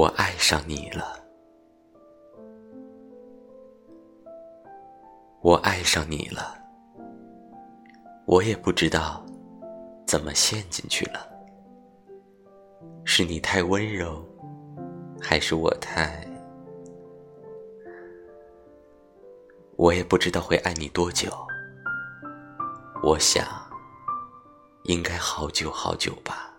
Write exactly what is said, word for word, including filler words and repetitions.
我爱上你了，我爱上你了，我也不知道怎么陷进去了，是你太温柔，还是我太……我也不知道会爱你多久，我想应该好久好久吧。